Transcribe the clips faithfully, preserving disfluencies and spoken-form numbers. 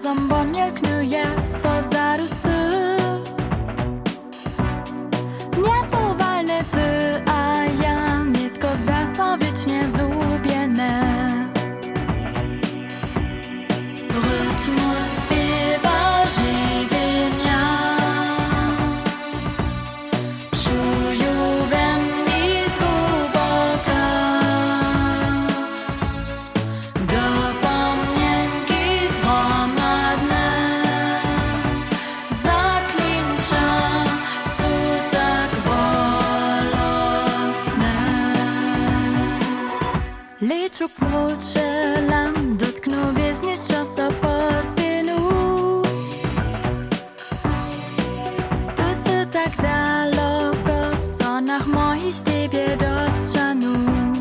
Zombomil knuje so zarusy. Niepowalne ty, a ja nietko zda so wiecznie zubiene. Rytmu śpiewa żywienia. Czuję we mnie z głęboka. Dopomnienki zgromadne. Zaklinča sú tak bolesne. Lečo pručelam, dotknú viezniš často po spinu. Tu sú tak daleko, v sonach mojich tebie dostrzanu.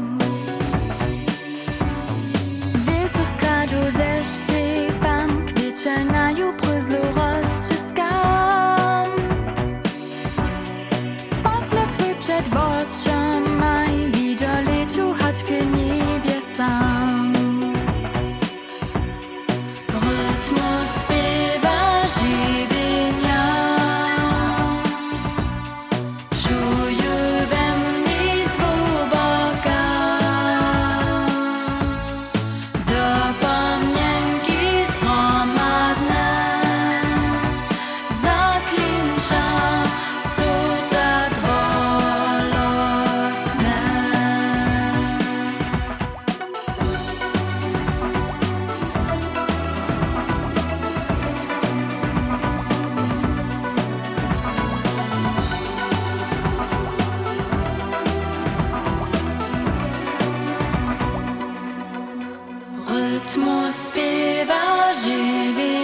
Wiesu skradzu ze szczypan, kwiecielnają pryzlu rozciskam. Posmok twój przed oczami, widzę leciu choć k niebiesam. Rytmu śpiewa żywienia. Czuję we mnie z głęboka. Dopomnienki zgromadne. Zaklinča sú tak bolesne. Rytmu śpiewa żywienia.